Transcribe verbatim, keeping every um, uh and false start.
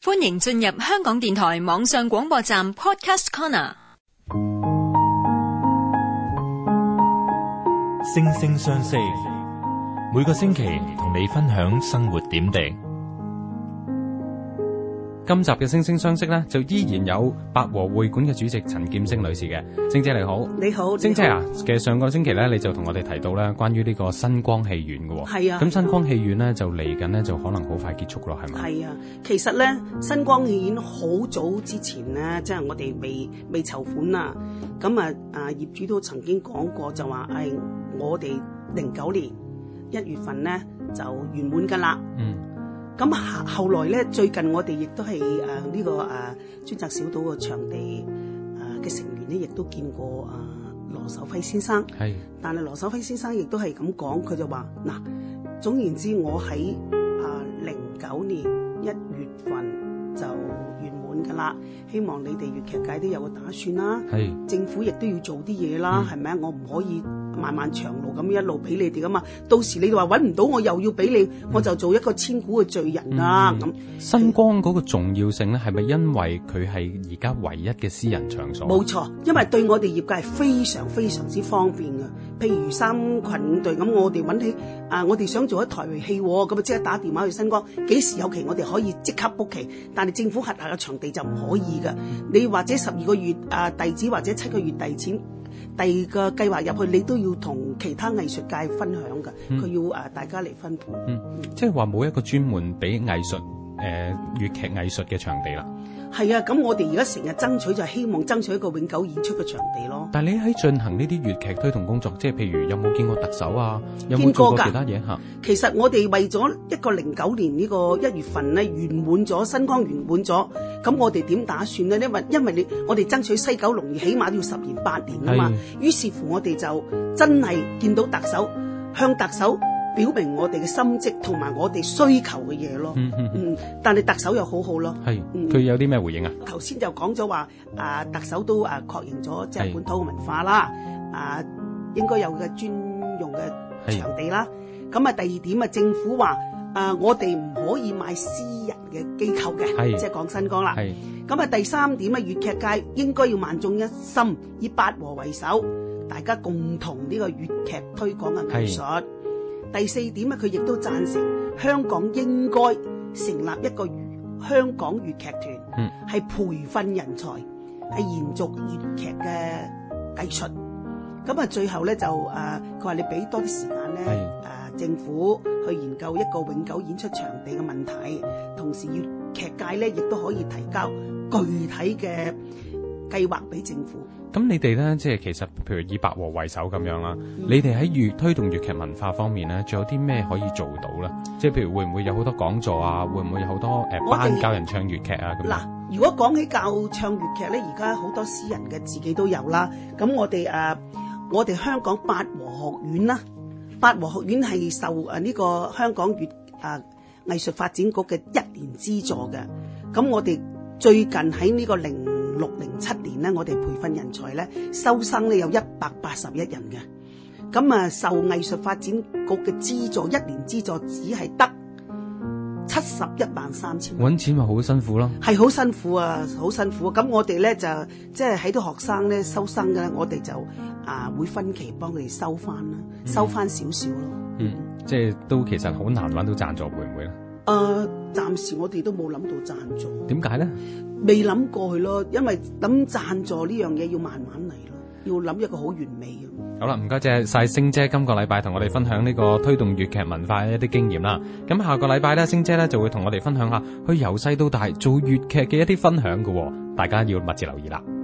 歡迎進入香港電台網上廣播站 Podcast Corner。 星聲相識，每個星期同你分享生活點滴。今集嘅星聲相識咧，就依然有百和會館嘅主席陳劍星女士嘅。星姐你好。 你好， 星姐啊，其實上個星期咧，你就同我哋提到咧，關於呢個新光戲院嘅。 係啊。 咁新光戲院咧就嚟緊咧，就可能好快結束咯，係咪？ 係啊，其實咧，新光戲院好早之前咧，即係我哋未未籌款啊。咁啊啊業主都曾經講過，就話誒、哎，我哋零九年一月份咧就圓滿噶啦。嗯。咁後來咧，最近我哋亦都係誒呢個誒、啊、專責小組嘅場地誒嘅成員咧，亦都見過啊羅守輝先生。係。但係羅守輝先生亦都係咁講，佢就話嗱，總言之，我喺啊零九年一月份就圓滿㗎啦。希望你哋粵劇界都有個打算啦。係。政府亦都要做啲嘢啦，係咪啊？我唔可以漫漫長路咁一路俾你哋噶嘛，到時你哋話揾唔到我又要俾你、嗯，我就做一個千古嘅罪人啦。咁、嗯、 新光嗰個重要性咧，係咪因為佢係而家唯一嘅私人場所？ 冇錯，因為對我哋業界係非常非常之方便嘅。譬如三群五隊咁，我哋揾起啊，我哋想做一台戲，咁啊即刻打電話去新光，幾時有期我哋可以即刻 book 期。但係政府轄下嘅場地就唔可以㗎。你或者十二個月啊遞紙，或者七個月遞錢。第二個計劃入去，你都要同其他藝術界分享㗎，佢、嗯、要誒大家嚟分配。嗯，嗯即係話冇一個專門俾藝術誒粵劇藝術嘅場地啦。 係啊，咁我哋而家成日爭取就係希望爭取一個永久演出嘅場地咯。 但係你喺進行呢啲粵劇推動工作，即係譬如有冇見過特首啊？有冇做過其他嘢嚇？ 其實我哋為咗一個零九年呢個一月份咧圓滿咗，新光圓滿咗，咁我哋點打算咧？因為因為你我哋爭取西九龍起碼都要十年八年啊嘛。於是乎我哋就真係見到特首，向特首表明我哋嘅心跡同埋我哋需求嘅嘢咯。嗯嗯嗯。但係特首又好好咯。係。佢、 嗯、有啲咩回應啊？ 頭先就講咗話，啊特首都啊確認咗即係本土嘅文化啦，啊應該有嘅專用嘅場地啦。咁啊第二點啊，政府話啊我哋唔可以買私人嘅機構嘅，即係講新光啦。係。咁啊第三點啊，粵劇界應該要萬眾一心，以八和為首，大家共同呢個粵劇推廣嘅藝術。第四點啊，佢亦都贊成香港應該成立一個香港粵劇團，係、嗯、培訓人才，係延續粵劇嘅藝術。咁啊，最後咧就誒，佢、呃、話你俾多啲時間咧，誒、呃、政府去研究一個永久演出場地嘅問題，同時粵劇界咧亦都可以提交具體嘅計劃俾政府。 咁你哋咧，即係其實譬如以百和為首咁樣啦、嗯，你哋喺粵推動粵劇文化方面咧，仲有啲咩可以做到咧？即係譬如會唔會有好多講座啊？會唔會有好多誒、呃、班教人唱粵劇啊？咁嗱，如果講起教唱粵劇咧，而家好多私人嘅自己都有啦。咁我哋誒、呃，我哋香港八和學院啦，八和學院係受誒呢個香港粵誒藝術發展局嘅一年資助嘅。咁我哋最近喺呢個零六零七年咧，我哋培訓人才咧，收生咧有一百八十一人嘅。咁啊，受藝術發展局嘅資助，一年資助只係得七十一萬三千。 搵錢咪好辛苦咯， 係好辛苦啊，好辛苦。咁我哋咧就即係喺啲學生咧收生嘅咧，我哋就啊會分期幫佢哋收翻啦，收翻少少咯。 嗯，即係都其實好難搵到贊助，會唔會咧？ 誒、呃，暫時我哋都冇諗到贊助。點解咧？ 未諗過去咯，因為諗贊助呢樣嘢要慢慢嚟咯，要諗一個好完美嘅。 好啦，唔該晒星姐，今個禮拜同我哋分享呢個推動粵劇文化嘅一啲經驗啦。咁下個禮拜咧，星姐咧就會同我哋分享下佢由細到大做粵劇嘅一啲分享㗎喎，大家要密切留意啦。